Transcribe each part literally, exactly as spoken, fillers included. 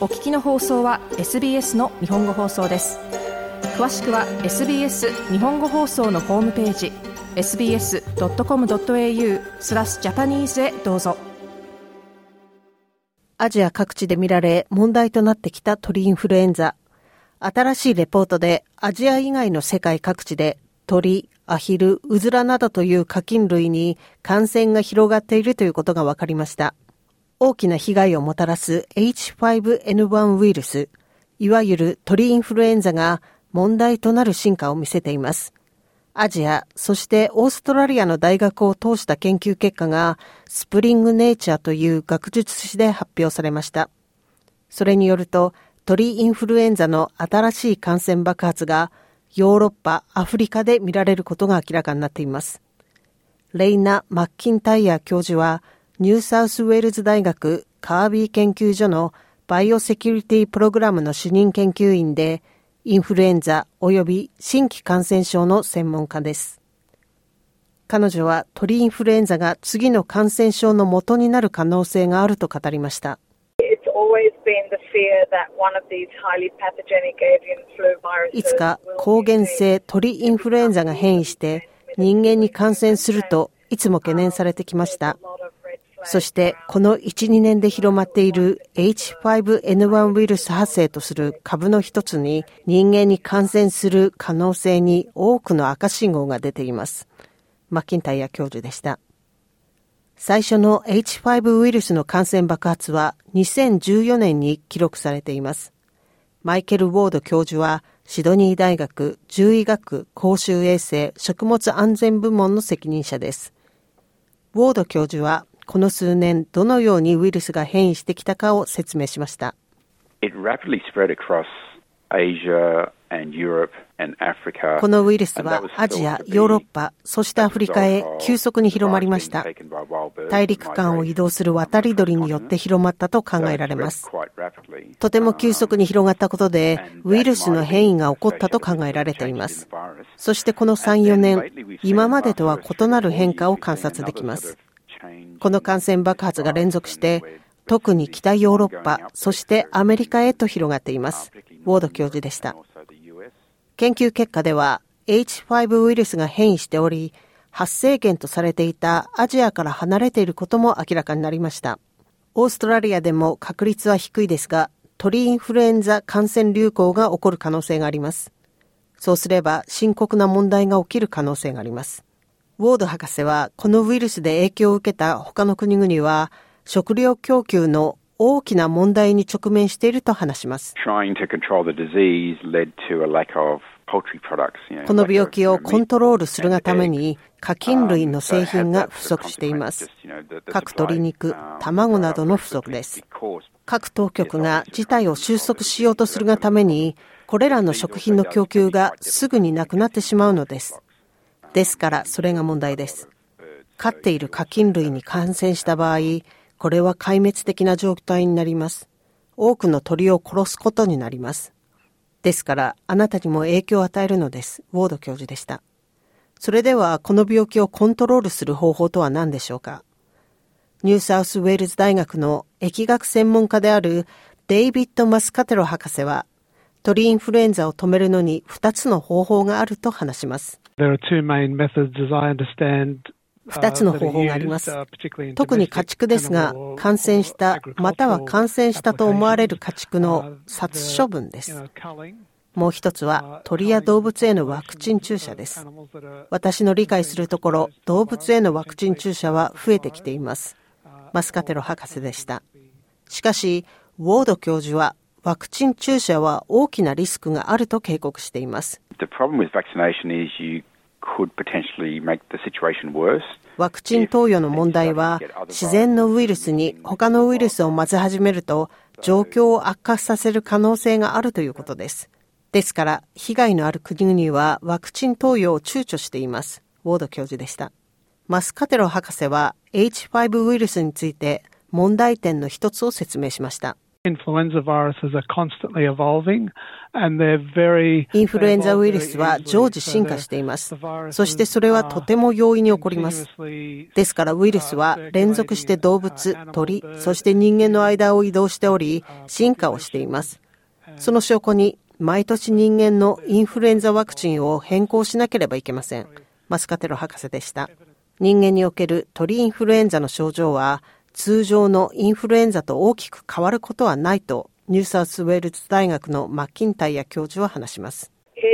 お聞きの放送は エスビーエス の日本語放送です。詳しくは エスビーエス 日本語放送のホームページ エスビーエスドットコムドットエーユー スラスジャパニーズへどうぞ。 アジア各地で見られ問題となってきた鳥インフルエンザ。新しいレポートでアジア以外の世界各地で鳥、アヒル、ウズラなどという家禽類に感染が広がっているということが分かりました。大きな被害をもたらす エイチファイブエヌワン ウイルス、いわゆる鳥インフルエンザが問題となる進化を見せています。アジア、そしてオーストラリアの大学を通した研究結果がスプリングネイチャーという学術誌で発表されました。それによると、鳥インフルエンザの新しい感染爆発がヨーロッパ、アフリカで見られることが明らかになっています。レイナ・マッキンタイヤ教授は、ニューサウスウェールズ大学カービー研究所のバイオセキュリティプログラムの主任研究員で、インフルエンザ及び新規感染症の専門家です。彼女は鳥インフルエンザが次の感染症の元になる可能性があると語りました。いつか抗原性鳥インフルエンザが変異して人間に感染するといつも懸念されてきました。そしてこのいち、にねんで広まっている エイチファイブエヌワン ウイルス発生とする株の一つに人間に感染する可能性に多くの赤信号が出ています。マッキンタイヤ教授でした。最初の エイチファイブ ウイルスの感染爆発はにせんじゅうよねんに記録されています。マイケル・ウォード教授はシドニー大学獣医学公衆衛生食物安全部門の責任者です。ウォード教授はこの数年どのようにウイルスが変異してきたかを説明しました。 It rapidly spread across Asia and Europe and Africa. このウイルスはアジア、ヨーロッパ、そしてアフリカへ急速に広まりました。大陸間を移動する渡り鳥によって広まったと考えられます。とても急速に広がったことで、ウイルスの変異が起こったと考えられています。そしてこのさん、よねん、今までとは異なる変化を観察できます。この感染爆発が連続して、特に北ヨーロッパ、そしてアメリカへと広がっています。ウォード教授でした。研究結果では エイチファイブ ウイルスが変異しており、発生源とされていたアジアから離れていることも明らかになりました。オーストラリアでも確率は低いですが、鳥インフルエンザ感染流行が起こる可能性があります。そうすれば深刻な問題が起きる可能性があります。ウォード博士はこのウイルスで影響を受けた他の国々は食料供給の大きな問題に直面していると話します。この病気をコントロールするがために家禽類の製品が不足しています。各鶏肉、卵などの不足です。各当局が事態を収束しようとするがためにこれらの食品の供給がすぐになくなってしまうのです。ですからそれが問題です。飼っている家禽類に感染した場合、これは壊滅的な状態になります。多くの鳥を殺すことになります。ですからあなたにも影響を与えるのです。ウォード教授でした。それではこの病気をコントロールする方法とは何でしょうか。ニューサウスウェールズ大学の疫学専門家であるデイビッド・マスカテロ博士は、鳥インフルエンザを止めるのにふたつの方法があると話します。 There are two main methods as I understand. 二つの方法があります。特に家畜ですが、感染したまたは感染したと思われる家畜の殺処分です。もう一つは鳥や動物へのワクチン注射です。私の理解するところ、動物へのワクチン注射は増えてきています。マスカテロ博士でした。しかし、ウォード教授はワクチン注射は大きなリスクがあると警告しています。 The problem with vaccination is you could potentially make the situation worse. ワクチン投与の問題は自然のウイルスに他のウイルスを混ぜ始めると状況を悪化させる可能性があるということです。ですから被害のある国々はワクチン投与を躊躇しています。ウォード教授でした。マスカテロ博士は エイチファイブ ウイルスについて問題点の一つを説明しました。 Influenza viruses are constantly evolving, and they're very インフルエンザウイルスは常時進化しています。そしてそれはとても容易に起こります。ですからウイルスは連続して動物、鳥、そして人間の間を移動しており、進化をしています。その証拠に、毎年人間のインフルエンザワクチンを変更しなければいけません。マスカテロ博士でした。人間における鳥インフルエンザの症状は、通常のインフルエンザと大きく変わることはないと、ニューサウスウェールズ大学のマッキンタイヤ教授は話します。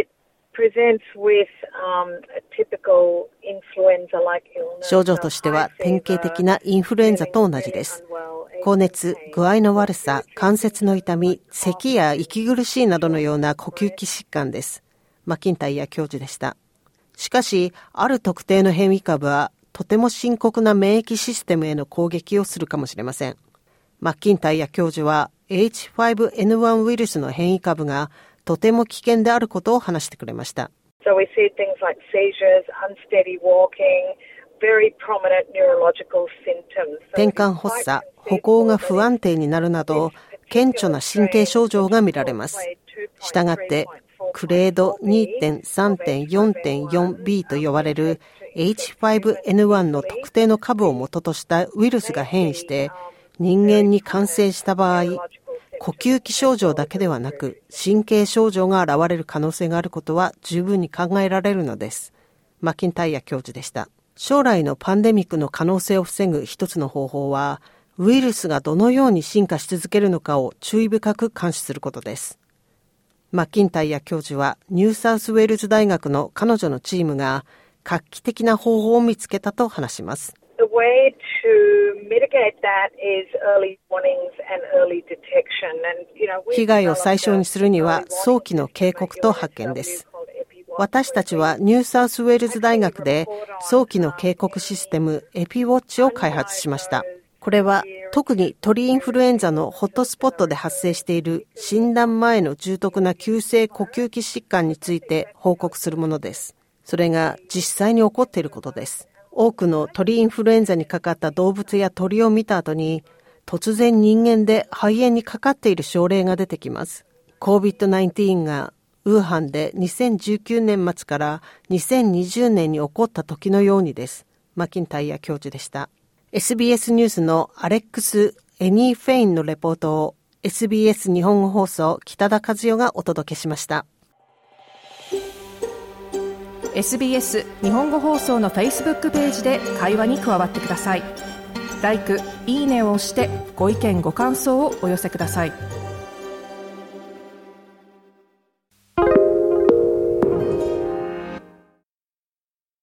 症状としては典型的なインフルエンザと同じです。高熱、具合の悪さ、関節の痛み、咳や息苦しいなどのような呼吸器疾患です。マッキンタイヤ教授でした。しかし、ある特定の変異株は、とても深刻な免疫システムへの攻撃をするかもしれません。マッキンタイヤ教授は エイチファイブエヌワン ウイルスの変異株がとても危険であることを話してくれました。 So we see things like seizures, unsteady walking, very prominent neurological symptoms. 転換発作、歩行が不安定になるなど顕著な神経症状が見られます。したがってグレード にてんさんてんよんてんよんビー と呼ばれるエイチファイブエヌワン の特定の株を元としたウイルスが変異して人間に感染した場合、呼吸器症状だけではなく神経症状が現れる可能性があることは十分に考えられるのです。マッキンタイヤ教授でした。将来のパンデミックの可能性を防ぐ一つの方法は、ウイルスがどのように進化し続けるのかを注意深く監視することです。マッキンタイヤ教授はニューサウスウェールズ大学の彼女のチームが画期的な方法を見つけたと話します。 The way to mitigate that is early warnings and early detection. And, you know, 被害を最小にするには早期の警告と発見です。私たちはニューサウスウェールズ大学で早期の警告システムエピウォッチを開発しました。これは特に鳥インフルエンザのホットスポットで発生している診断前の重篤な急性呼吸器疾患について報告するものです。それが実際に起こっていることです。多くの鳥インフルエンザにかかった動物や鳥を見た後に突然人間で肺炎にかかっている症例が出てきます。コービッドナインティーン がウーハンでにせんじゅうきゅうねん末からにせんにじゅうねんに起こった時のようにです。マッキンタイヤ教授でした。エスビーエス ニュースのアレックス・エニー・フェインのレポートを エスビーエス 日本語放送北田和代がお届けしました。 エスビーエス 日本語放送の Facebook ページで会話に加わってください。ライク、いいねを押してご意見ご感想をお寄せください。